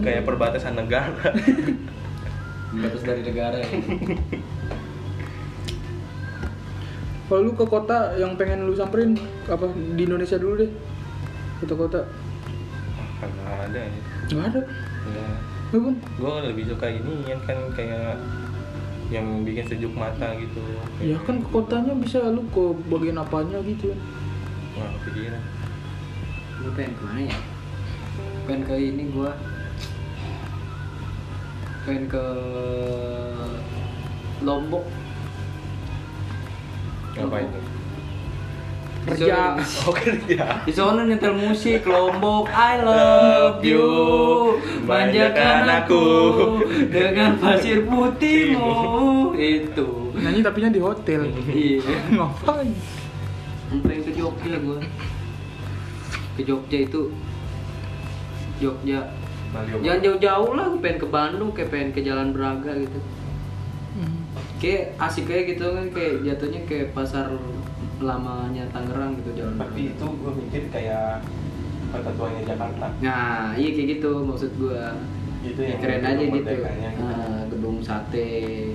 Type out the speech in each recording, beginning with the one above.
Kayak perbatasan negara. Batas dari negara ya. Kalau lu ke kota yang pengen lu samperin apa di Indonesia dulu deh. Kota-kota. Karena ada ya. Enggak ada. Ya. Lu pun. Gue lebih suka ini yang kan kayak yang bikin sejuk mata gitu. Ya kan ke kotanya bisa lu ke bagian apanya gitu. Nggak kepikiran. Gue pengen kemana ya? Pengen ke ini gue. Pengen ke Lombok. Ngapain tuh? Kerja. Oh kerja. Di sana nyetel musik Lombok, I love you, manjakan aku dengan pasir putihmu. Itu Nyanyi tapinya di hotel. iya. Ngapain? Pengen ke Jogja gue. Ke Jogja itu Jogja. Jangan jauh-jauh lah, gue pengen ke Bandung, kayak pengen ke Jalan Braga gitu. Kayak asik kayak gitu kan, kayak jatuhnya kayak pasar lamanya Tangerang gitu Jalan Braga. Tapi itu gue mikir kayak kota tuanya Jakarta. Nah, iya kayak gitu maksud gue. Itu Ya, yang keren aja gitu. merdekanya gitu. Gedung sate.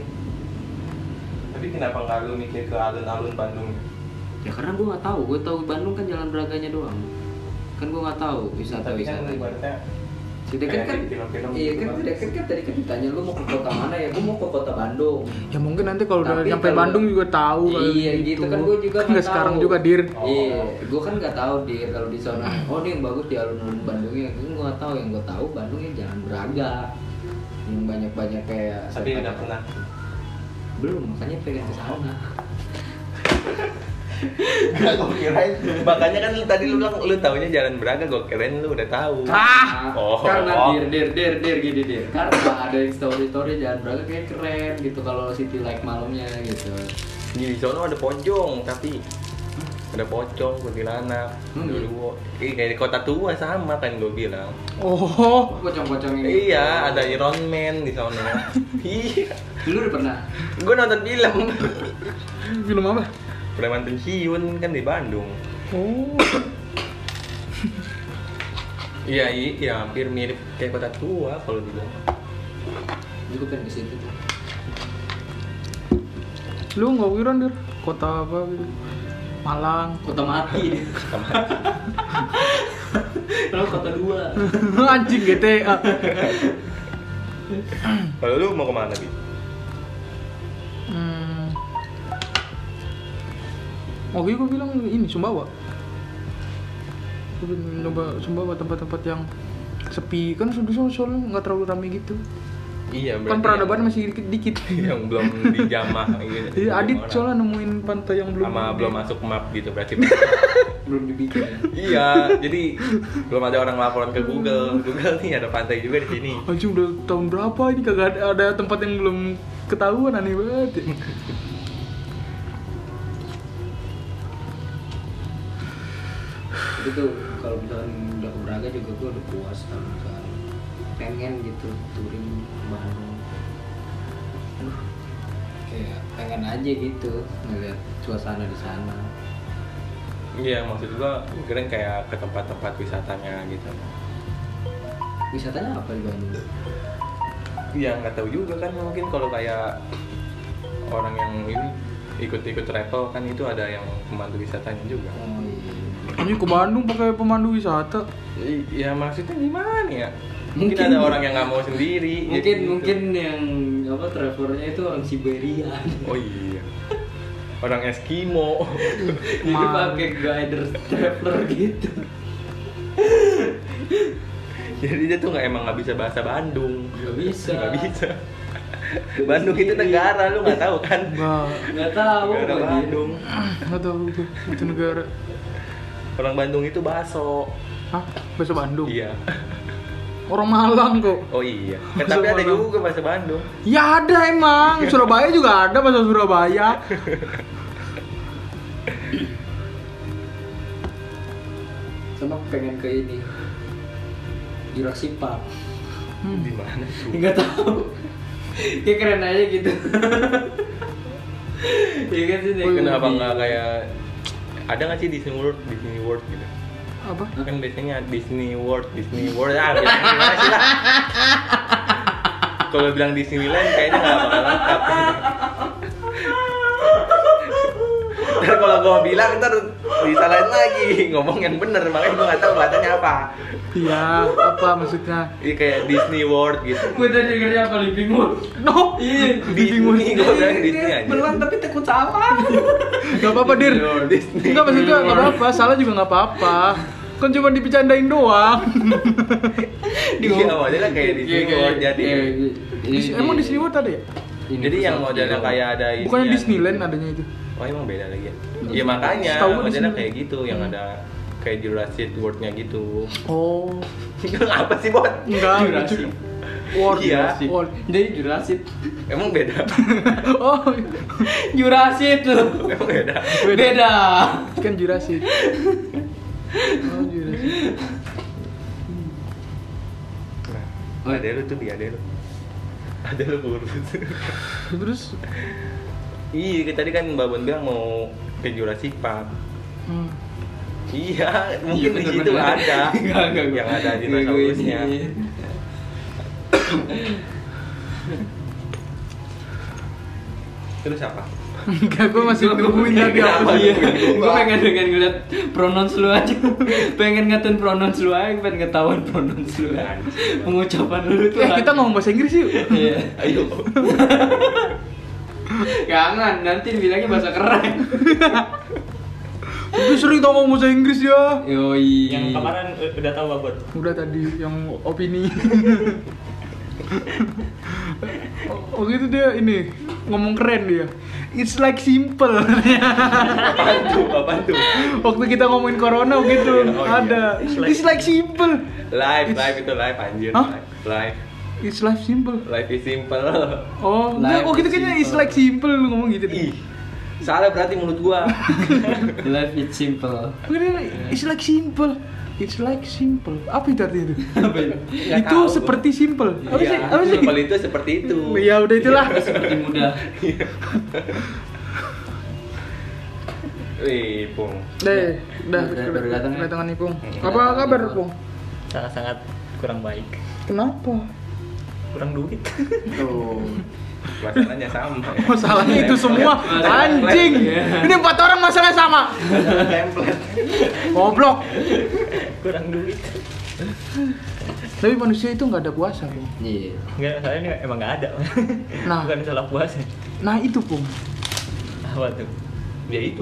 Tapi kenapa nggak lu mikir ke alun-alun Bandung? Ya karena gue nggak tahu. Gue tahu Bandung kan Jalan Braganya doang. Kan gue nggak tahu Tapi kan wisata-wisata. ibaratnya Sedangkan kan, di film-film iya gitu kan, sedangkan kan tadi kan ditanya lu mau ke kota mana ya? Gue mau ke kota Bandung. Ya mungkin nanti kalau udah Tapi nyampe kalau- Bandung juga tahu kali Iya gitu kan, gue juga nggak nggak sekarang tahu. juga dir. Oh. Iya, gue kan nggak tahu dir kalau di sana. Oh ini yang bagus di alun-alun Bandungnya. Gue nggak tahu, yang gue tahu Bandungnya Jalan Braga. Yang banyak-banyak kayak. tapi udah pernah. Belum, makanya pengen ke sana. Gak, gue kirain. Makanya kan tadi lu bilang lu taunya Jalan Braga, gue kirain lu udah tahu. Oh. Karena dir gini dir. Karena ada yang story Jalan Braga kayak keren gitu kalau city light malamnya gitu. Di sono ada pocong, tapi ada pocong, kuntilanak, dulu. Kayak di kota tua sama kan gue bilang. Oh, Pocong-pocong ini. Iya, ada Iron Man di sono. Iya. Dulu udah pernah. Gue nonton film. film apa? Preman pensiun kan di Bandung. Oh, Iya, iya, hampir mirip kayak kota tua kalau dibilang. Gue pengen ke situ tuh. lu nggak kira dir kota apa gitu? Malang. Kota mati dia. Kalau kota dua. Anjing GTA. Kalau lu mau kemana Bi? Oke, gue bilang ini Sumbawa. Gue pengen nyoba Sumbawa, tempat-tempat yang sepi kan, soalnya nggak terlalu ramai gitu. Iya, Kan peradaban masih dikit. yang belum dijamah gitu. Iya, Adit Orang. soalnya nemuin pantai yang belum. Sama belum masuk map gitu berarti. Belum dibikin ya. Iya, jadi belum ada orang laporan ke Google. Google nih ada pantai juga di sini. Anjing udah tahun berapa ini kagak ada tempat yang belum ketahuan, aneh banget. Itu tuh kalau misalkan udah ke Braga juga gue udah puas kalau misalkan pengen gitu touring Bandung. Aduh, kayak pengen aja gitu ngeliat suasana di sana. Iya, maksud gua keren kayak ke tempat-tempat wisatanya gitu. Wisatanya apa di Bandung? Iya, nggak tahu juga kan, mungkin kalau kayak orang yang ini ikut-ikut travel kan itu ada yang pemandu wisatanya juga. Oh iya. Anjing ke Bandung pakai pemandu wisata. Iya, maksudnya gimana ya? Mungkin ada orang yang nggak mau sendiri. Mungkin jadi gitu. mungkin yang apa travelernya itu orang Siberia. Oh iya. Orang Eskimo. Jadi pakai guider traveler gitu. Jadi dia tuh emang nggak bisa bahasa Bandung. Nggak bisa. Nggak bisa. Bandung itu negara, lu nggak tahu kan? Nggak tahu Negara apa dia. Bandung. Nggak tahu gue itu negara. Orang Bandung itu baso. Hah? Bahasa Bandung? Iya. Orang Malang kok. Oh iya. Bahasa Tapi ada Malang. juga bahasa Bandung. Ya ada emang. Surabaya juga ada bahasa Surabaya. Sama pengen ke ini Jurassic Park. Di mana tuh? Nggak tahu. Kayak keren aja gitu. Iya kan sih. Oh, iya. Kenapa nggak kayak ada nggak sih Disney World gitu? Apa? Kan biasanya Disney World ah bilang gimana sih lah. Kalau bilang Disneyland kayaknya nggak bakal lengkap. Dan kalau gue bilang ntar disalahin lagi, ngomong yang bener, makanya gue nggak tahu bahasanya apa. Iya, apa maksudnya? Iya kayak Disney World gitu. Gue tadi dengarnya apa Living World. No, Disney, gue bilang Disney aja. Beneran tapi takut salah. nggak apa-apa dir. Disney. Enggak maksudnya nggak apa-apa, salah juga nggak apa-apa. Kan cuma dibecandain doang. Iya modelnya kayak Disney World jadi. Emang Disney World ada ya? Jadi yang modelnya kayak ada Bukannya isian. Disneyland adanya itu? Oh emang beda lagi ya? Iya makanya Setahu gua modelnya Disneyland. kayak gitu yang ada kayak Jurassic World-nya gitu. Oh, Apa sih Bot? enggak. Jurassic. World. Iya. World. Jadi Jurassic. Emang beda? Oh, Jurassic tuh. Emang beda? Beda. kan Jurassic. Oh, Jurassic. Nah, ada lu tuh dia ada lu. Ada lu kurus. Terus Iya, tadi kan Mbak Bon bilang mau ke Jurassic Park. hmm. Iya, mungkin di situ bener-bener. ada. Enggak. Yang ada dinosaurusnya. Terus apa? Enggak, gue masih nungguin tadi apa Iya, sih? gue pengen ngeliat pronouns lu aja. Pengen ngatain pronouns lu aja, pengen ketahuan pronouns lu. Pengucapan lu tuh. Kita ngomong bahasa Inggris yuk. Iya. Ayo. Jangan, nanti bilangnya bahasa keren. Gue sering tau ngomong bahasa Inggris ya. Yoi. Yang kemarin udah tahu Babot. Udah tadi yang opini. Waktu itu dia ini ngomong keren dia. It's like simple. Apaan tuh? Waktu kita ngomongin corona begitu Oh, iya. ada. It's like simple. Live itu live anjir. Hah? Live. It's like simple. Life is simple. Oh, enggak, Life oh gitu is kayaknya it's simple. like simple lu ngomong gitu. Ih. Salah berarti mulut gua. Life is simple. It's like simple. It's like simple. Apa itu artinya itu? Apa itu? Nggak Itu tahu seperti simple. Apa Iya, sih? Apa sih? Simple itu seperti itu. Ya udah itulah. Seperti mudah. Wih, Pung. Deh, udah Baru datang ya? kedatangan nih, Pung. Apa kabar, Pung? Sangat-sangat kurang baik. Kenapa? Kurang duit. Tuh. Masalahnya sama. Ya. Masalahnya itu semua Masalah anjing. template. Ini 4 orang masalahnya sama. Template. Goblok. Kurang duit. Tapi manusia itu nggak ada puasa, Pung. Iya. Enggak, saya ini emang nggak ada. Nah. Bukan salah puasa. Nah, itu, Pung. Apa tuh? Dia itu.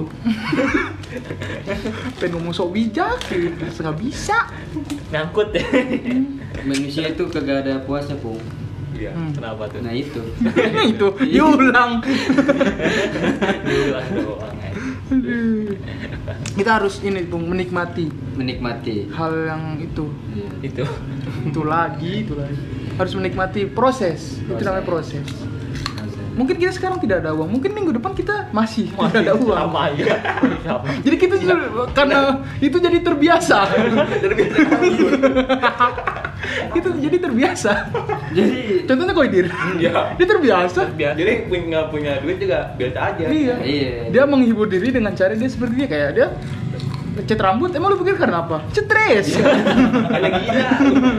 Pengen ngomong sok bijak, nggak bisa. Nyangkut ya. Manusia itu kagak ada puasa, Pung. Iya. Kenapa tuh? Nah itu. Itu diulang. Diulang doang aja. Kita harus ini, Pung, menikmati Menikmati. hal yang itu. Iya. Itu. Itu lagi. Harus menikmati proses. Itu namanya proses. Mungkin kita sekarang tidak ada uang, mungkin minggu depan kita masih tidak ada uang. Sama aja. Sama. Jadi kita karena itu jadi terbiasa. Itu jadi terbiasa. Jadi Contohnya Koidir. Iya. Dia terbiasa. Jadi nggak punya duit juga biasa aja. Iya. Iya. Dia menghibur diri dengan cara dia seperti dia kayak dia ngecat rambut. Emang lu pikir karena apa? Stres. Ada gila.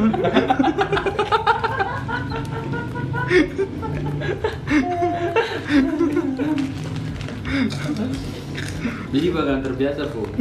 Jadi bakalan terbiasa, Pung.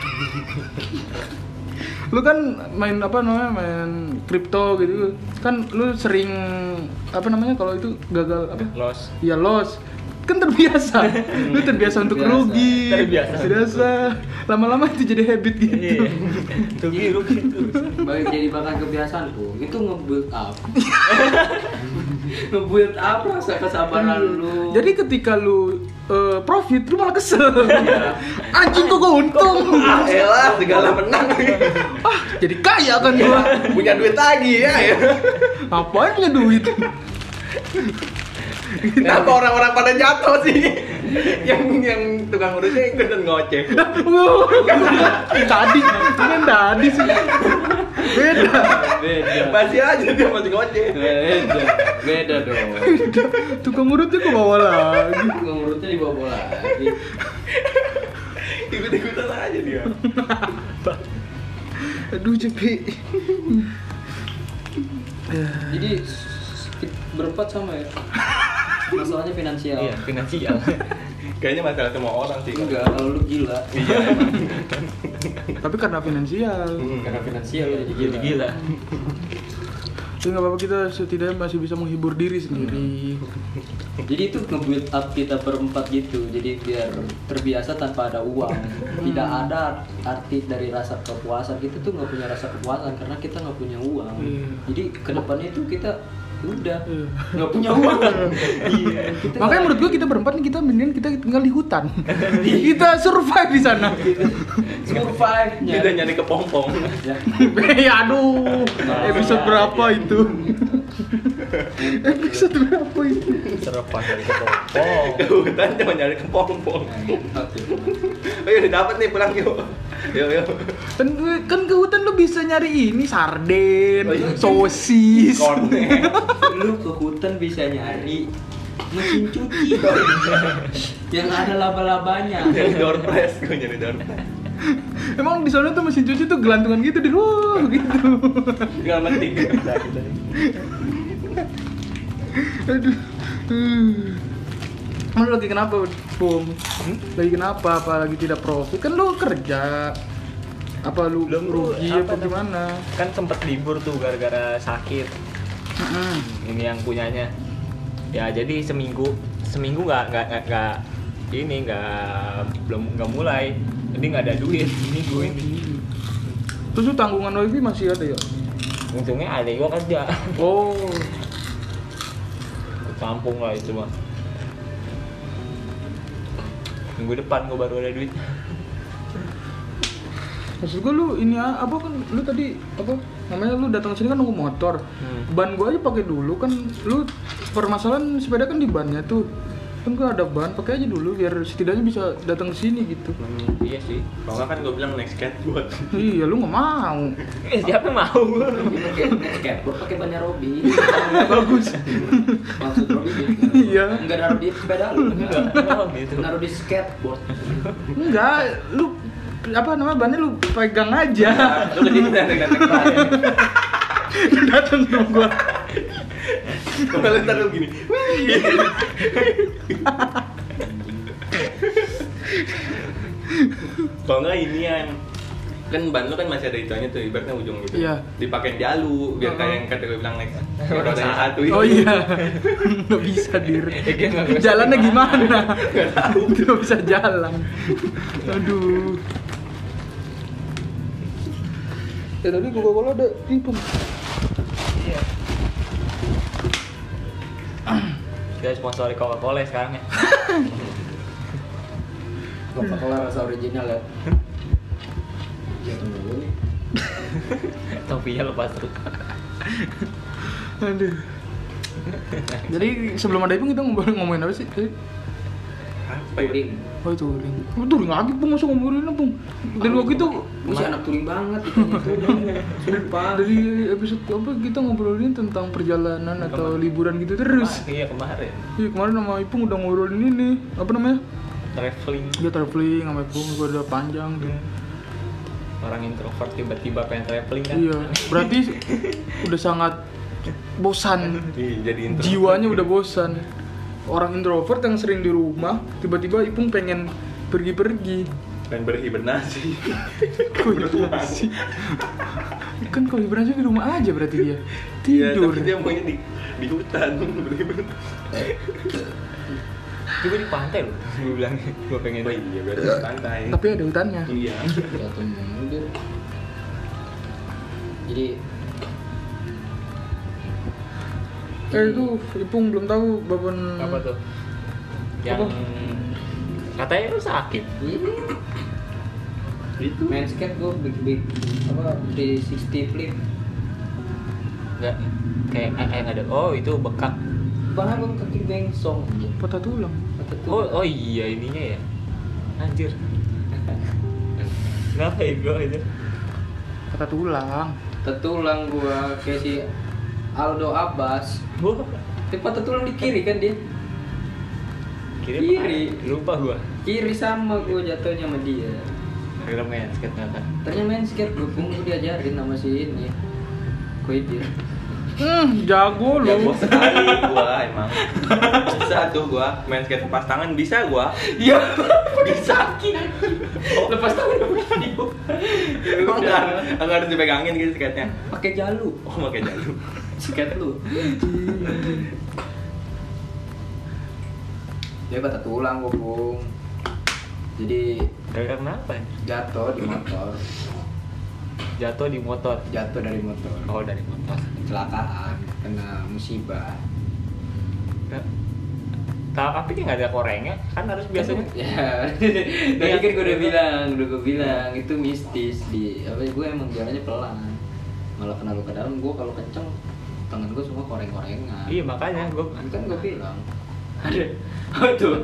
Lu kan main apa namanya, main kripto gitu kan, lu sering apa namanya kalau itu gagal apa? Loss. Ya loss. Kan terbiasa. Lu terbiasa untuk Terbiasa. rugi. Terbiasa. Lama-lama itu jadi habit gitu. Iya. Tuh gitu. Jadi bakal kebiasaan, Pung. Itu nge-build up. Nge-build up rasa kesabaran lu. Jadi ketika lu profit, lu malah kesel. Anjing kok gua untung. Ah, elah, segala menang. Jadi kaya kan gua. Punya duit lagi ya. Ngapain punya duit? Kenapa orang-orang pada jatuh sih? yang tukang urusnya ikutan ngoceh. Tadi, kan tadi sih. Beda. Beda. Masih aja dia masih ngoceh. Beda dong. Tukang urutnya ke bawah lagi. Ngurutnya dibawa lagi. Ikut-ikutan aja dia. Aduh Cepi. Jadi berempat sama ya. Masalahnya finansial. Iya, finansial. Kayaknya masalah semua orang sih. Enggak, kalau lu gila. Iya emang. Tapi karena finansial. Karena finansial jadi Jadi gila. Tapi nggak apa-apa, kita setidaknya masih bisa menghibur diri sendiri. Jadi itu nge-build up kita berempat gitu. Jadi biar terbiasa tanpa ada uang. Tidak ada arti dari rasa kepuasan. Kita tuh nggak punya rasa kepuasan karena kita nggak punya uang. Iya. Jadi kedepannya itu kita udah Iya. nggak punya uang. Iya. Kita Makanya menurut gua kita berempat nih, kita mendingan kita tinggal di hutan. Kita survive di sana. survive. Kita nyari kepompong. Ya aduh, episode berapa itu? Episode berapa itu? Selepas dari kepompong. Ke hutan cuma nyari kepompong. Oh iya, dapat nih, pulang yuk. Yuk. Kan ke hutan lu bisa nyari ini sarden, Oh, iya. sosis. Kornet. Lu ke hutan bisa nyari mesin cuci yang ada laba-labanya. Nyari door press, gue nyari door press. Emang di sana tuh mesin cuci tuh gelantungan gitu di luar gitu. Tinggal metik. Aduh. Lu lagi kenapa, Bung? Lagi kenapa? Apa lagi tidak profit? Kan lu kerja. Apa lu Belum, rugi apa apa gimana? Kan sempet libur tuh gara-gara sakit. Ini yang punyanya. Ya jadi seminggu belum mulai. Jadi nggak ada duit minggu ini. Terus lu tanggungan wifi masih ada ya? Untungnya ada gua kerja. Oh. Tampung lah itu mah. Minggu depan gua baru ada duit. Maksud gua lu ini apa kan lu tadi apa namanya lu datang sini kan nunggu motor. Ban gua aja pakai dulu kan, lu permasalahan sepeda kan di bannya tuh. Kan gua ada ban, pakai aja dulu biar setidaknya bisa datang ke sini gitu. Iya sih. Kalau nggak kan gue bilang naik skateboard. Iya, lu nggak mau. Siapa yang mau? Skateboard pakai bannya Robby. Bagus. Maksud Robby gitu. Iya. Enggak naruh di sepeda lu. Enggak, gitu. Naruh di skateboard. Enggak, lu apa namanya bannya lu pegang aja. Lu ke sini datang Lu datang sama gua. Kalau ntar lu gini. Kalau nggak ini yang kan ban lu kan masih ada ituannya tuh, ibaratnya ujung gitu. Iya. Dipakein jalu biar kayak yang kata gue bilang next. Roda yang satu itu. Oh iya. Nggak bisa dir. Jalannya gimana? Nggak tahu. Nggak bisa jalan. Aduh. Ya tadi Coca-Cola ada tipu. Iya. Kita sponsori Coca-Cola sekarang ya. Coca-Cola rasa original ya. Jangan dulu nih. Topinya lepas terus. Aduh. Jadi sebelum ada Ipung kita ngomongin apa sih? Apa ya? Touring. Oh itu touring. Oh, touring lagi Pung, masa ngomongin apa Pung? Dan waktu itu Gue sih anak touring banget itu. Sumpah. dari episode apa kita ngobrolin tentang perjalanan atau liburan gitu terus. Iya kemarin. Iya kemarin sama Ipung udah ngobrolin ini apa namanya? Traveling. Dia traveling sama Ipung gua udah panjang tuh. Orang introvert tiba-tiba pengen traveling kan. Iya, berarti udah sangat bosan. Jadi intro. Jiwanya udah bosan. Orang introvert yang sering di rumah, tiba-tiba Ipung pengen pergi-pergi. Dan berhibernasi. Kok hibernasi? Kan kalau hibernasi di rumah aja berarti dia Iya, tidur. tapi dia maunya di hutan berhibernasi. Juga di pantai loh. Gue bilang gue pengen. Oh iya, berarti di pantai. Tapi ada hutannya. Iya. Jatuh mundur. Jadi Itu Ipung belum tahu Baban Apa tuh? Yang katanya lu sakit. itu main skate gue big apa 360 flip. Enggak kayak ada. Oh, itu bekak. Bang abang kaki bengsong. patah tulang. Oh iya ininya ya. Anjir. Kenapa ya gue itu? Patah tulang. Tetulang gua kayak si Aldo Abbas. Wah, Tapi patah tulang di kiri kan dia. kiri. Kiri. Lupa gua. Kiri sama gua jatuhnya sama dia. Kira main skate ternyata. Ternyata main skate gue diajarin sama si ini Koidir. Jago Ya lu. gua sekali gua emang. Bisa tuh gua main skate lepas tangan bisa gua. Iya. Bisa. Lepas tangan begini. Emang enggak harus dipegangin gitu skate-nya. Pakai jalu. Oh, pakai jalu. Skate lu. Dia patah tulang gue, Bung. Jadi Gara-gara kenapa? jatuh di motor. Jatuh di motor. Jatuh dari motor. Oh, dari motor. Kecelakaan, kena musibah. Tapi dia nggak ada korengnya, kan harus biasanya. Ya, tadi kan gue udah bilang itu mistis di apa? Gue emang jalannya pelan, malah kena luka dalam. Gue kalau kenceng tangan gue semua koreng-korengan. Iya makanya gue Kan gue bilang ada. Oh tuh.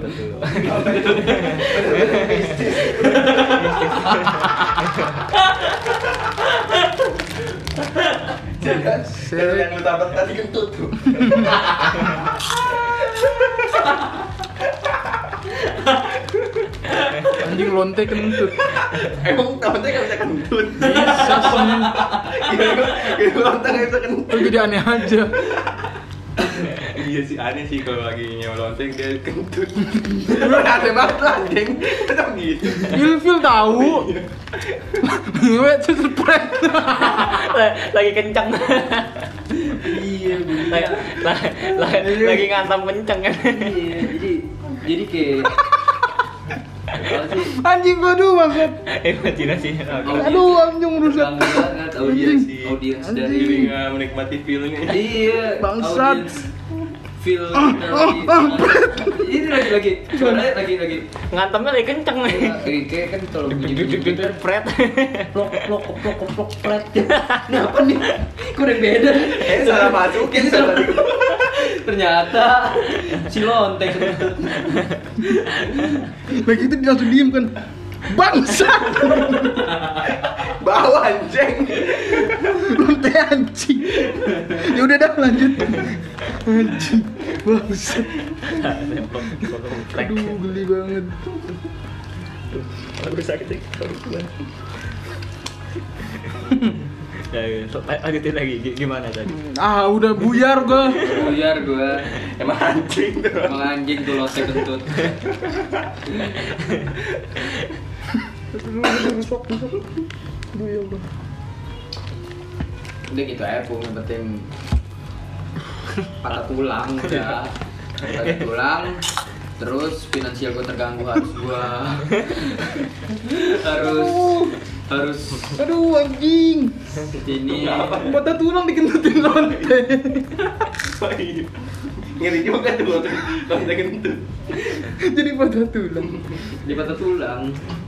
Kalau yang lu tabrak tadi kentut tuh. Anjing lonte kentut. Emang tamatnya nggak bisa kentut. Bisa sih. Kira lontar nggak bisa kentut. Lu jadi aneh aja. Iya sih aneh sih kalau lagi nyewa lonteng dia kentut. Lu aneh banget lah anjing. Kenapa gitu? Ilfil tahu. Ngewe sesepret. lagi kencang. Iya, lagi ngantam kencang kan. Iya, jadi kayak apa sih? Anjing gua aduh maksud. Imajinasinya. Aduh anjing rusak. Ganggu banget audiens Jadi dari nggak menikmati feelnya. iya Bangsat. audiens feel ini lagi suaranya lagi Ngantamnya lagi kencang nih. kayak kan kalau bunyi Fred. plok plok plok plok flat. Nah apa nih? Kok udah beda? Salah masukin salah. Ternyata si lonteng. Lagi itu dia langsung diem kan. Bangsat. Bawa anjing. Lonte anjing. Ya udah dah lanjut. Anjing. Bangsat. Aduh geli banget. Udah sakit sih. Ya, lanjutin lagi gimana tadi? Ah udah buyar gua. Buyar gua. Emang anjing tuh. Emang anjing tuh lonteng kentut. Rusak. Aduh ya Allah. Udah gitu aja Pung, yang penting patah tulang udah. Patah tulang, terus finansial gue terganggu harus Aduh anjing. ini Patah tulang dikentutin lonte. Ngeri juga tuh lonteng kentut. Jadi patah tulang. di patah tulang,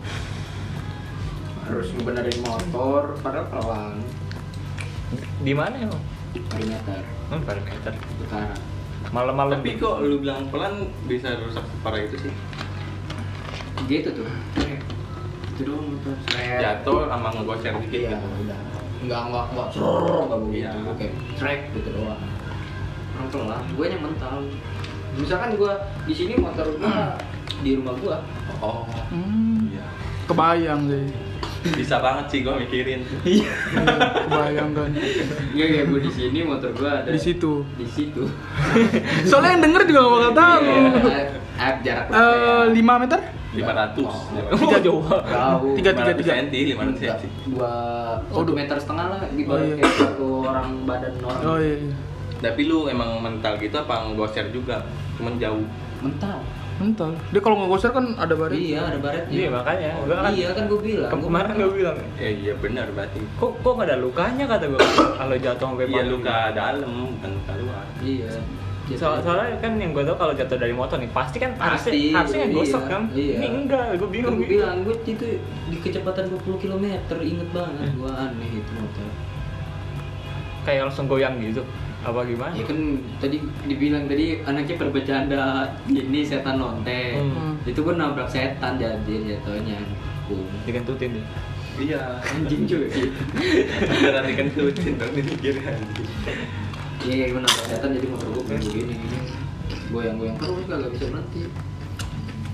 harus ngebenerin motor padahal pelan. Di mana emang? Perimeter Parameter. utara. Malam-malam. Tapi kok lu bilang pelan bisa rusak separah itu sih? Gitu tuh. Itu doang motor. Jatuh sama ngegosir dikit Iya, gitu. udah. Enggak begitu. Iya. Kayak track gitu doang. Orang pelan, gue yang mental. Misalkan gue di sini motor gue di rumah gue. Oh. Iya. Kebayang sih. Bisa banget sih gue mikirin. Iya. Kebayang kan. Iya, gue di sini motor gue ada Di situ. Di situ. Soalnya yang denger juga gak bakal tahu. Iya, jarak 5 meter? 500. Tiga jauh. jauh. 500 cm, 500 cm. Dua Oh, 1 meter setengah lah gitu. Oh, iya. Kayak satu orang badan orang. Oh iya. Tapi lu emang mental gitu apa ngegosir juga? Cuman jauh. Mental. Mental. Dia kalau ngegosir kan ada baret. Iya, ada baretnya. Iya makanya. Oh, Gua kan iya kan gue bilang. kemarin gue bilang. Iya benar berarti. Kok nggak ada lukanya kata gue kalau jatuh sampai Iya palu. luka dalam bukan luka luar. Iya. Soalnya kan yang gue tau kalau jatuh dari motor nih pasti kan Pasti, harusnya gosok iya, kan. iya. Ini enggak, gue bingung. Gue bilang gue itu di kecepatan 20 km, inget banget. Gue aneh itu motor. Kayak langsung goyang gitu. Apa gimana? Ya kan tadi dibilang tadi anaknya bercanda ini setan lonteng. Itu gue nabrak setan jadi jatuhnya. Dikentutin dia. Iya. Anjing cuy. Beneran dikentutin dong mikir anjing. Iya, gue nabrak setan. setan jadi motor gue begini goyang-goyang terus gak bisa berhenti.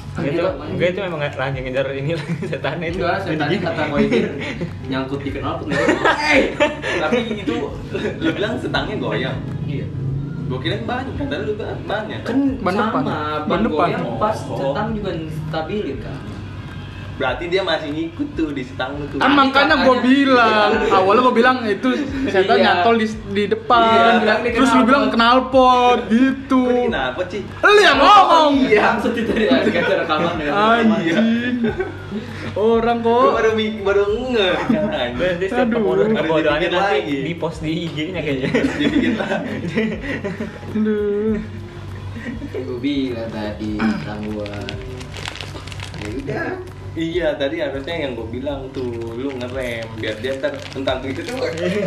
Enggak itu memang lagi ngejar ini setan itu. Enggak, setannya kata gue ini nyangkut di knalpot nggak? Tapi itu lu bilang setangnya goyang. Iya. Gua kira ban, kata lu bannya. Kan Ban depan. sama, Ban ban depan. goyang pas Oh. setang juga stabilin kan. Berarti dia masih ngikut tuh di setang lu tuh. Kan makanya gue bilang, awalnya gue bilang itu setan Iya. nyantol di depan, Iya, bilang di terus lu knalpot. bilang knalpot gitu. Kok kenapa sih? Lu yang ngomong. Iya, maksud itu ya, kita rekaman ya. Anjing. Orang Gua kok. baru ngeh kan. Berarti setiap Aduh. kebodohannya Harus nanti lagi. di post di IG-nya kayaknya. Dibikin lagi. Aduh. Gue bilang tadi tentang gua. Ya udah. Iya, tadi harusnya yang gue bilang tuh, lu ngerem biar dia ntar tentang itu tuh.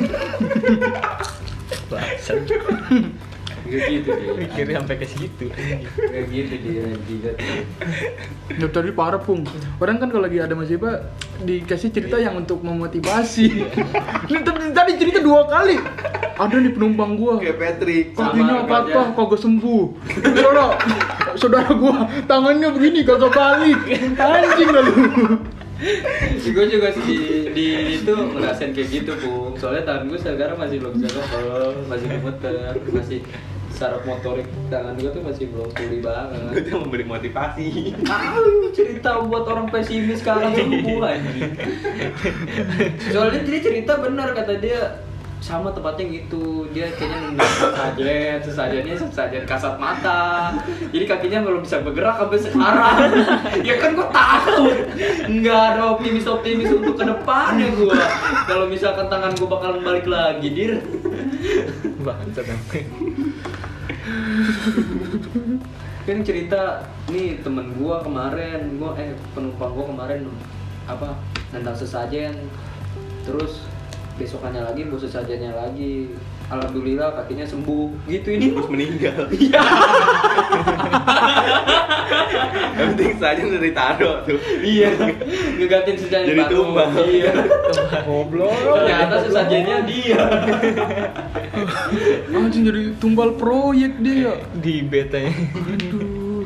Bangsat. Gak gitu dia. Mikirnya sampai ke situ. Gak gitu dia jidat. Ya tadi parah pung. Orang kan kalau lagi ada musibah dikasih cerita yang untuk memotivasi. Ini tadi cerita 2 kali. Ada nih penumpang gua. Kayak Patrick. Kakinya Sama patah, aja. kagak sembuh. Saudara gua tangannya begini kagak balik. Anjing lah lu. Gue juga sih di itu ngerasain kayak gitu Pung. Soalnya tangan gue sekarang masih belum bisa ngepel, masih gemeter, masih saraf motorik tangan gue tuh masih belum pulih Gue banget. tuh memberi motivasi. Cerita buat orang pesimis sekarang sembuh anjing. Soalnya dia cerita benar kata dia sama tempatnya gitu, dia kayaknya nunggu sesajen kasat mata, jadi kakinya belum bisa bergerak sampai sekarang. Ya kan gue takut, nggak ada optimis untuk ke depannya gue. Kalau misalkan tangan gue bakalan balik lagi, dir. Bangsat namanya. Kan cerita nih temen gue kemarin, penumpang gue kemarin apa nendang sesajen, terus besokannya lagi bawa sesajennya lagi, alhamdulillah kakinya sembuh gitu. Ini Terus meninggal. iya. Yang penting saja udah ditaruh tuh. Iya, ngegantiin sesajen Jadi baru. tumbang. Iya. Goblok. Ternyata sesajennya dia. Anjing jadi tumbal proyek dia. Di betanya. Aduh.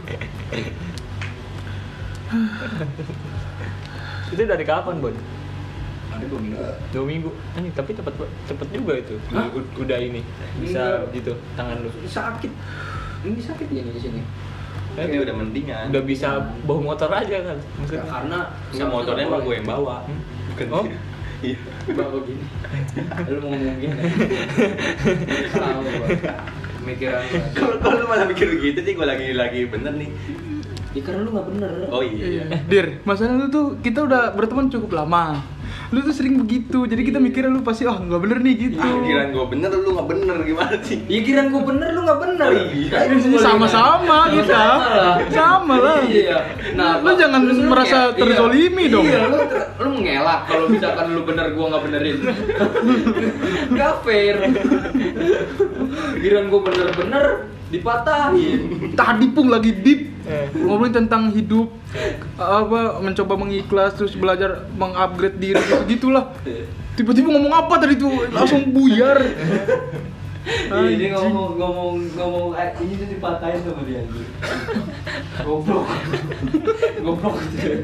Itu dari kapan, Bon? Ada 2 minggu. 2 minggu. Tapi cepet juga itu. Hah? Udah ini. Bisa Enggak. gitu tangan lu. Sakit. Ini sakit ya di sini. Ini udah mendingan. Udah bisa bawa motor aja kan maksudnya. Karena Nggak, motornya mah gue yang bawa. Bukan Oh? dia. Iya. bawa gini. Lu mau ngomong gini. Tahu gua. Pemikiran gua. Kalau lu malah mikir begitu sih, gue lagi bener nih. Ya karena lu nggak bener. Oh iya. Dir, masalah lu tuh kita udah berteman cukup lama. Lu tuh sering begitu, jadi kita mikirnya lu pasti nggak bener nih gitu. Kiraan gue bener, lu nggak bener gimana sih? Ya kirain gua bener, lu nggak bener. Oh iya. Ini sih sama-sama kita. Sama lah. Sama lah. Iya. Lu jangan terus lu merasa nge- terzolimi iya, dong. Iya, lu mengelak kalau misalkan lu bener gua nggak benerin. Nggak fair. Kirain gua bener-bener dipatahin. Tadi pun lagi deep ngomongin tentang hidup, apa mencoba mengikhlas terus belajar mengupgrade diri gitu gitulah. Tiba-tiba ngomong apa tadi tuh langsung buyar. Iya, dia ngomong ini tuh dipatahin sama dia anjing. Goblok. Goblok gitu.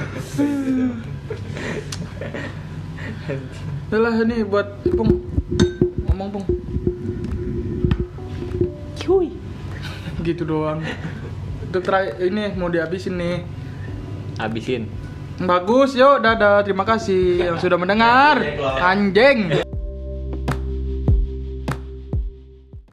Yalah ini buat Pung. Ngomong Pung. Cuy. Gitu doang. Untuk ini mau dihabisin nih. Habisin. Bagus, yuk dadah. Terima kasih yang sudah mendengar. Anjing.